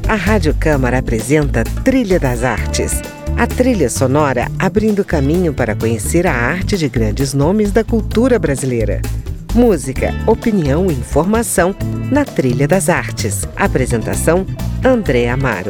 A Rádio Câmara apresenta Trilha das Artes. A trilha sonora abrindo caminho para conhecer a arte de grandes nomes da cultura brasileira. Música, opinião e informação na Trilha das Artes. Apresentação, André Amaro.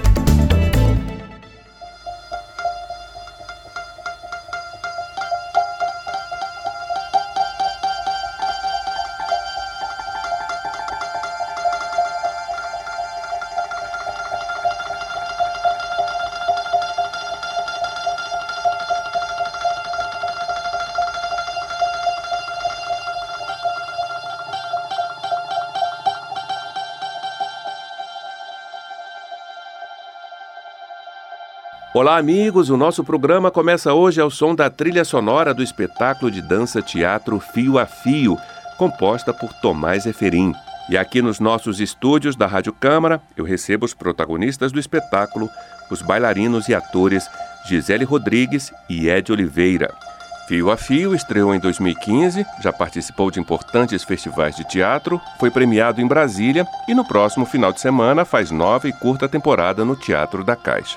Olá, amigos! O nosso programa começa hoje ao som da trilha sonora do espetáculo de dança-teatro Fio a Fio, composta por Tomás Eferim. E aqui nos nossos estúdios da Rádio Câmara, eu recebo os protagonistas do espetáculo, os bailarinos e atores Gisele Rodrigues e Ed Oliveira. Fio a Fio estreou em 2015, já participou de importantes festivais de teatro, foi premiado em Brasília e no próximo final de semana faz nova e curta temporada no Teatro da Caixa.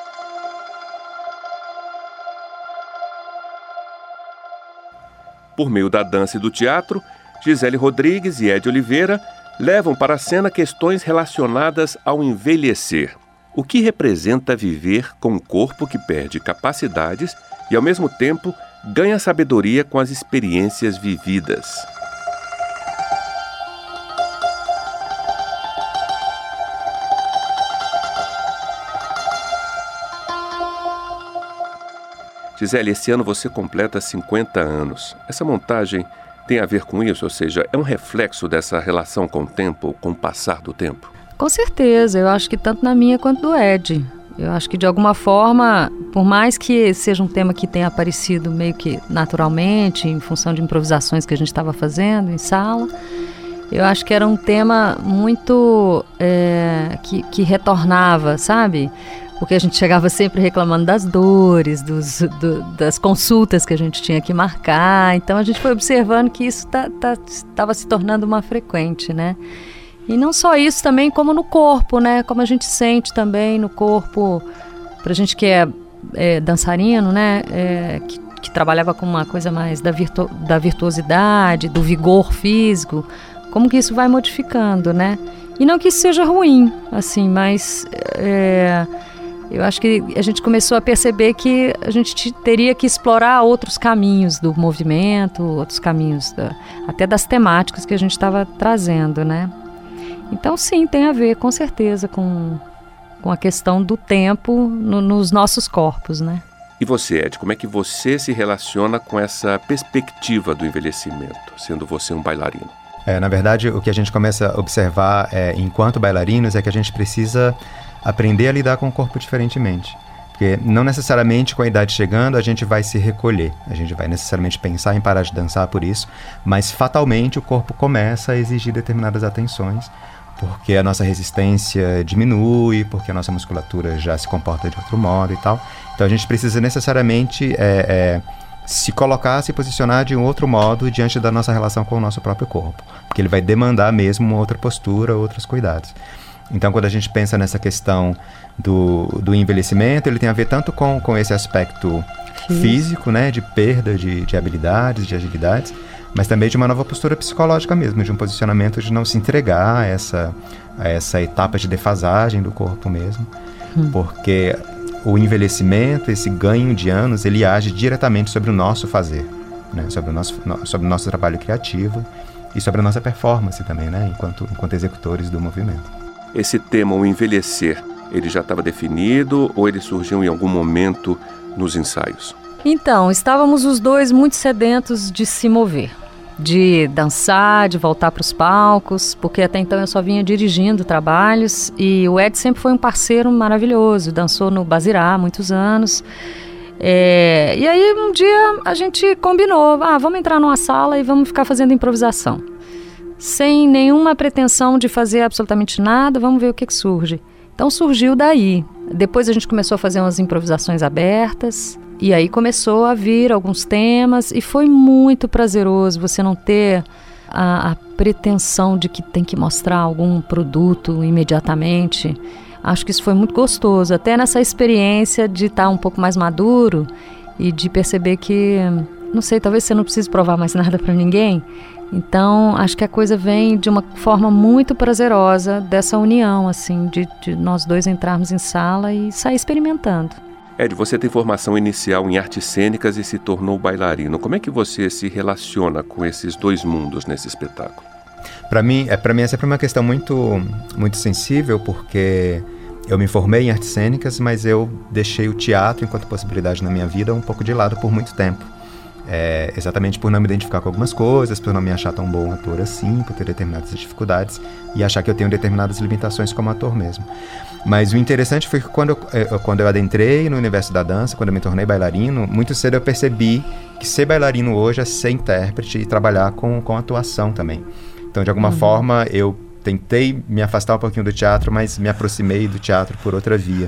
Por meio da dança e do teatro, Gisele Rodrigues e Ed Oliveira levam para a cena questões relacionadas ao envelhecer. O que representa viver com um corpo que perde capacidades e, ao mesmo tempo, ganha sabedoria com as experiências vividas. Gisele, esse ano você completa 50 anos. Essa montagem tem a ver com isso? Ou seja, é um reflexo dessa relação com o tempo, com o passar do tempo? Com certeza, eu acho que tanto na minha quanto do Ed. Eu acho que de alguma forma, por mais que seja um tema que tenha aparecido meio que naturalmente, em função de improvisações que a gente estava fazendo em sala, eu acho que era um tema muito que retornava, sabe? Porque a gente chegava sempre reclamando das dores, das consultas que a gente tinha que marcar. Então a gente foi observando que isso estava se tornando uma frequente, né? E não só isso também, como no corpo, né? Como a gente sente também no corpo, pra gente que é dançarino, né? Que trabalhava com uma coisa mais da virtuosidade, do vigor físico, como que isso vai modificando, né? E não que isso seja ruim, assim, mas eu acho que a gente começou a perceber que a gente teria que explorar outros caminhos do movimento, outros caminhos até das temáticas que a gente estava trazendo, né? Então, sim, tem a ver, com certeza, com a questão do tempo nos nossos corpos, né? E você, Ed, como é que você se relaciona com essa perspectiva do envelhecimento, sendo você um bailarino? Na verdade, o que a gente começa a observar enquanto bailarinos é que a gente precisa aprender a lidar com o corpo diferentemente. Porque não necessariamente com a idade chegando a gente vai se recolher, a gente vai necessariamente pensar em parar de dançar por isso, mas fatalmente o corpo começa a exigir determinadas atenções, porque a nossa resistência diminui, porque a nossa musculatura já se comporta de outro modo e tal. Então a gente precisa necessariamente se colocar, se posicionar de um outro modo diante da nossa relação com o nosso próprio corpo, porque ele vai demandar mesmo uma outra postura, outros cuidados. Então, quando a gente pensa nessa questão do envelhecimento, ele tem a ver tanto com esse aspecto físico, né, de perda de habilidades, de agilidades, mas também de uma nova postura psicológica mesmo, de um posicionamento de não se entregar a essa etapa de defasagem do corpo mesmo, porque o envelhecimento, esse ganho de anos, ele age diretamente sobre o nosso fazer, né, sobre o nosso trabalho criativo e sobre a nossa performance também, né, enquanto executores do movimento. Esse tema, o envelhecer, ele já estava definido ou ele surgiu em algum momento nos ensaios? Então, estávamos os dois muito sedentos de se mover, de dançar, de voltar para os palcos, porque até então eu só vinha dirigindo trabalhos e o Ed sempre foi um parceiro maravilhoso, dançou no Bazirá há muitos anos. E aí um dia a gente combinou, vamos entrar numa sala e vamos ficar fazendo improvisação. Sem nenhuma pretensão de fazer absolutamente nada, vamos ver o que surge. Então surgiu daí. Depois a gente começou a fazer umas improvisações abertas, e aí começou a vir alguns temas, e foi muito prazeroso você não ter a pretensão de que tem que mostrar algum produto imediatamente. Acho que isso foi muito gostoso, até nessa experiência de estar um pouco mais maduro e de perceber que, não sei, talvez você não precise provar mais nada para ninguém. Então, acho que a coisa vem de uma forma muito prazerosa dessa união, assim, de nós dois entrarmos em sala e sair experimentando. Ed, você tem formação inicial em artes cênicas e se tornou bailarino. Como é que você se relaciona com esses dois mundos nesse espetáculo? Para mim é sempre uma questão muito, muito sensível, porque eu me formei em artes cênicas, mas eu deixei o teatro enquanto possibilidade na minha vida um pouco de lado por muito tempo. Exatamente por não me identificar com algumas coisas, por não me achar tão bom ator assim, por ter determinadas dificuldades e achar que eu tenho determinadas limitações como ator mesmo. Mas o interessante foi que quando eu adentrei no universo da dança, quando eu me tornei bailarino, muito cedo eu percebi que ser bailarino hoje é ser intérprete e trabalhar com atuação também. Então, de alguma forma, eu tentei me afastar um pouquinho do teatro, mas me aproximei do teatro por outra via.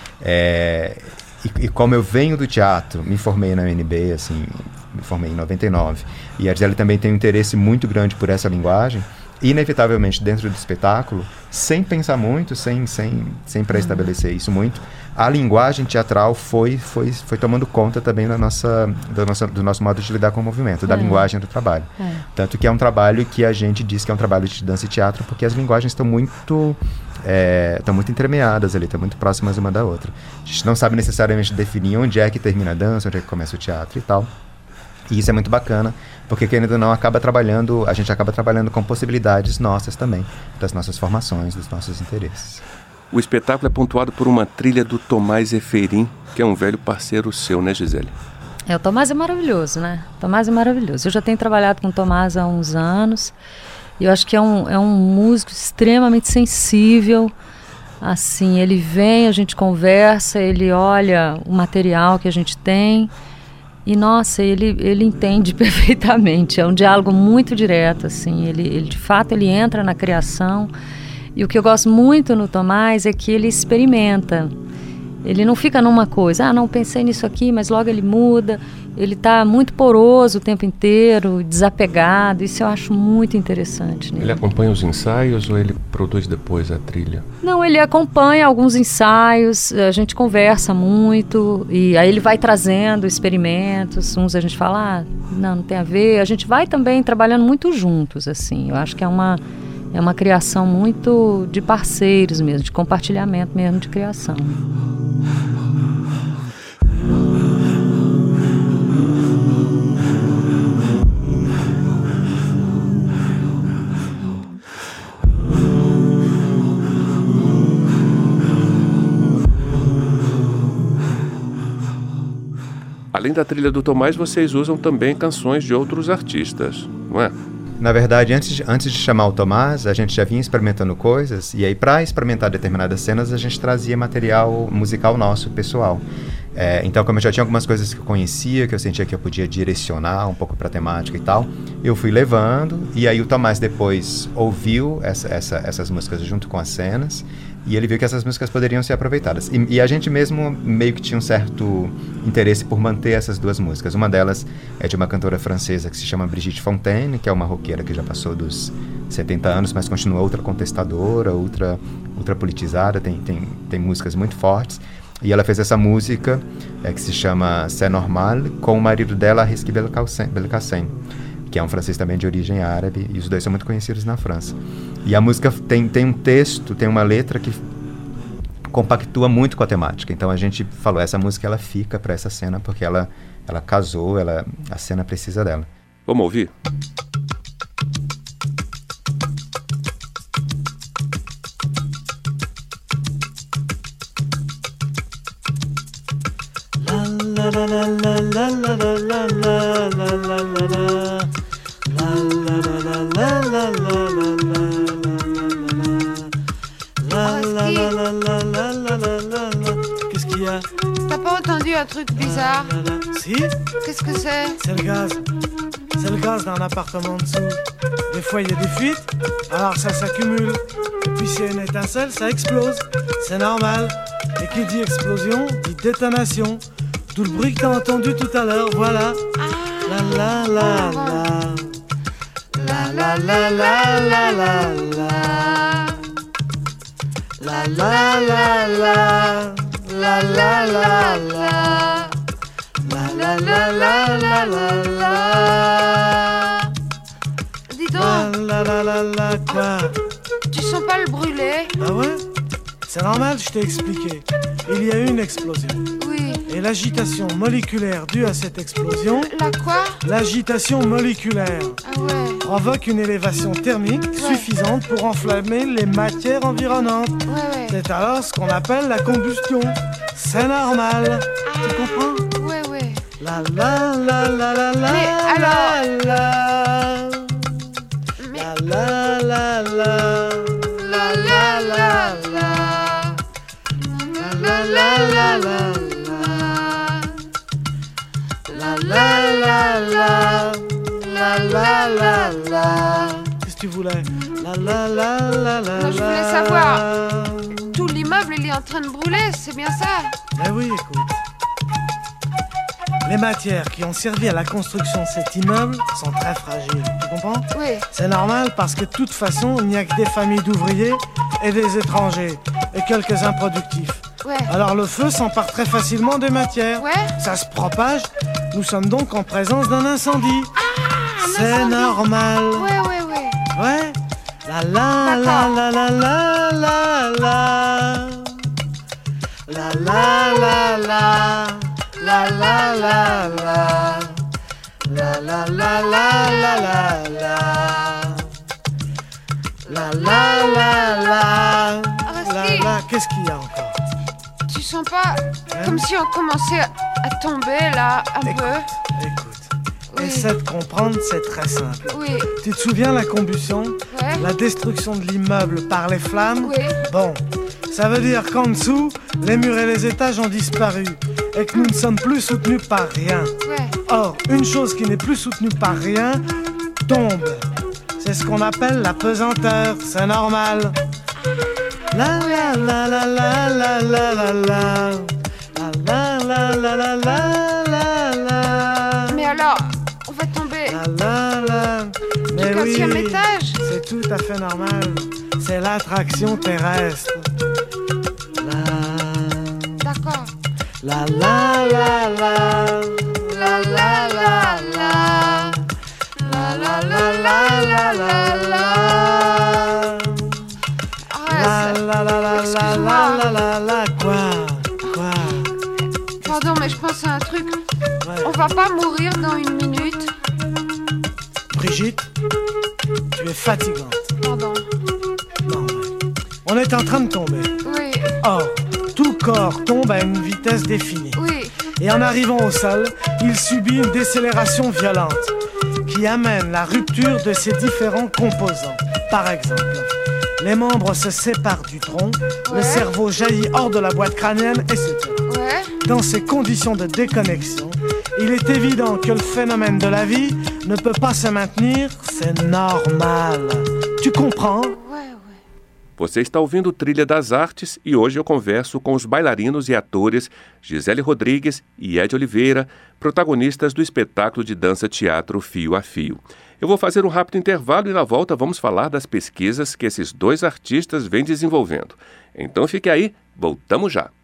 E como eu venho do teatro, me formei na UNB, assim, me formei em 99, e a Gisele também tem um interesse muito grande por essa linguagem, inevitavelmente dentro do espetáculo, sem pensar muito, sem pré-estabelecer isso muito, a linguagem teatral foi tomando conta também do nosso modo de lidar com o movimento, da linguagem do trabalho. Tanto que é um trabalho que a gente diz que é um trabalho de dança e teatro, porque as linguagens estão muito entremeadas ali, estão muito próximas uma da outra. A gente não sabe necessariamente definir onde é que termina a dança, onde é que começa o teatro e tal. E isso é muito bacana, porque querendo ou não, a gente acaba trabalhando com possibilidades nossas também, das nossas formações, dos nossos interesses. O espetáculo é pontuado por uma trilha do Tomás Eferin, que é um velho parceiro seu, né, Gisele? O Tomás é maravilhoso, né? O Tomás é maravilhoso. Eu já tenho trabalhado com o Tomás há uns anos, e eu acho que é um músico extremamente sensível. Assim, ele vem, a gente conversa, ele olha o material que a gente tem, e nossa, ele entende perfeitamente. É um diálogo muito direto, assim. Ele de fato ele entra na criação. E o que eu gosto muito no Tomás é que ele experimenta. Ele não fica numa coisa, não pensei nisso aqui, mas logo ele muda. Ele está muito poroso o tempo inteiro, desapegado. Isso eu acho muito interessante, né? Ele acompanha os ensaios ou ele produz depois a trilha? Não, ele acompanha alguns ensaios, a gente conversa muito, e aí ele vai trazendo experimentos. Uns a gente fala, não tem a ver. A gente vai também trabalhando muito juntos, assim. Eu acho que é uma criação muito de parceiros mesmo, de compartilhamento mesmo de criação. Além da trilha do Tomás, vocês usam também canções de outros artistas, não é? Na verdade, antes de chamar o Tomás, a gente já vinha experimentando coisas, e aí para experimentar determinadas cenas a gente trazia material musical nosso, pessoal. Então, como eu já tinha algumas coisas que eu conhecia, que eu sentia que eu podia direcionar um pouco para a temática e tal, eu fui levando, e aí o Tomás depois ouviu essas músicas junto com as cenas, e ele viu que essas músicas poderiam ser aproveitadas. E a gente mesmo meio que tinha um certo interesse por manter essas duas músicas. Uma delas é de uma cantora francesa que se chama Brigitte Fontaine, que é uma roqueira que já passou dos 70 anos, mas continua ultra contestadora, ultra politizada, tem músicas muito fortes. E ela fez essa música que se chama C'est Normal, com o marido dela, Risky Belkacem, que é um francês também de origem árabe, e os dois são muito conhecidos na França. E a música tem um texto, tem uma letra que compactua muito com a temática. Então a gente falou, essa música ela fica para essa cena, porque ela casou, a cena precisa dela. Vamos ouvir? Qu'est-ce qu'il y a? T'as pas entendu un truc bizarre? Si? Qu'est-ce que c'est? C'est le gaz. C'est le gaz d'un appartement en dessous. Des fois il y a des fuites, alors ça s'accumule. Et puis s'il y a une étincelle, ça explose. C'est normal. Et qui dit explosion, dit détonation. D'où le bruit que t'as entendu tout à l'heure, voilà. La la la la. La la La la la la la la. La la la la. La la la la. La la la la la la la. Dis donc, La la la la quoi? tu sens pas le brûler? Ah ouais? C'est normal, je t'ai expliqué. Il y a eu une explosion. Oui. Et l'agitation moléculaire due à cette explosion, La quoi? l'agitation moléculaire, Ah ouais. provoque une élévation thermique suffisante pour enflammer les matières environnantes. Ouais. C'est alors ce qu'on appelle la combustion. C'est normal. Tu comprends? Ouais. La la la la la la. Mais alors- la. Mais La la la. la la la la. La la la la. La la la la. La la la la. Qu'est-ce que tu voulais? La la la la la. Non, je voulais savoir. Tout l'immeuble, il est en train de brûler, c'est bien ça? Eh oui, écoute. Les matières qui ont servi à la construction de cet immeuble sont très fragiles. Tu comprends? Oui. C'est normal parce que de toute façon, il n'y a que des familles d'ouvriers et des étrangers et quelques improductifs. Ouais. Alors le feu s'empare très facilement des matières. Ouais. Ça se propage. Nous sommes donc en présence d'un incendie. C'est incendie. normal. Ouais. Ouais. La la la D'accord. la la la la la. La la la la. La la la la. La la la la la la la. La la la la. Arrête-y. La. Qu'est-ce qu'il y a encore? Tu sens pas comme si on commençait à tomber là, un peu? Écoute. Oui. Essaie de comprendre, c'est très simple. Oui. Tu te souviens la combustion? Ouais. La destruction de l'immeuble par les flammes? Oui. Bon, ça veut dire qu'en dessous, les murs et les étages ont disparu et que nous ne sommes plus soutenus par rien. Ouais. Or, une chose qui n'est plus soutenue par rien tombe. C'est ce qu'on appelle la pesanteur, c'est normal. La la la la la la la la la. La la la la la la la. Mais alors, on va tomber La la la. du Mais 15e oui, étage? c'est tout à fait normal. C'est l'attraction terrestre. D'accord. La la la la. La la la la. La la la la la la la. Arrête. La la la la Excuse-moi. la la la. Quoi? Pardon, mais je pense à un truc. Ouais. On va pas mourir dans une minute? Brigitte, tu es fatigante. Pardon. Non, ouais. On est en train de tomber. Oui. Or, tout corps tombe à une vitesse définie. Oui. Et en arrivant au sol, il subit une décélération violente qui amène la rupture de ses différents composants. Par exemple, les membres se séparent du tronc, le Ouais. cerveau jaillit hors de la boîte crânienne, etc. Ouais. Dans ces conditions de déconnexion, il est évident que le phénomène de la vie ne peut pas se maintenir, c'est normal. Tu comprends? Ouais. Você está ouvindo Trilha das Artes e hoje eu converso com os bailarinos e atores Gisele Rodrigues e Ed Oliveira, protagonistas do espetáculo de dança-teatro Fio a Fio. Eu vou fazer um rápido intervalo e na volta vamos falar das pesquisas que esses dois artistas vêm desenvolvendo. Então fique aí, voltamos já.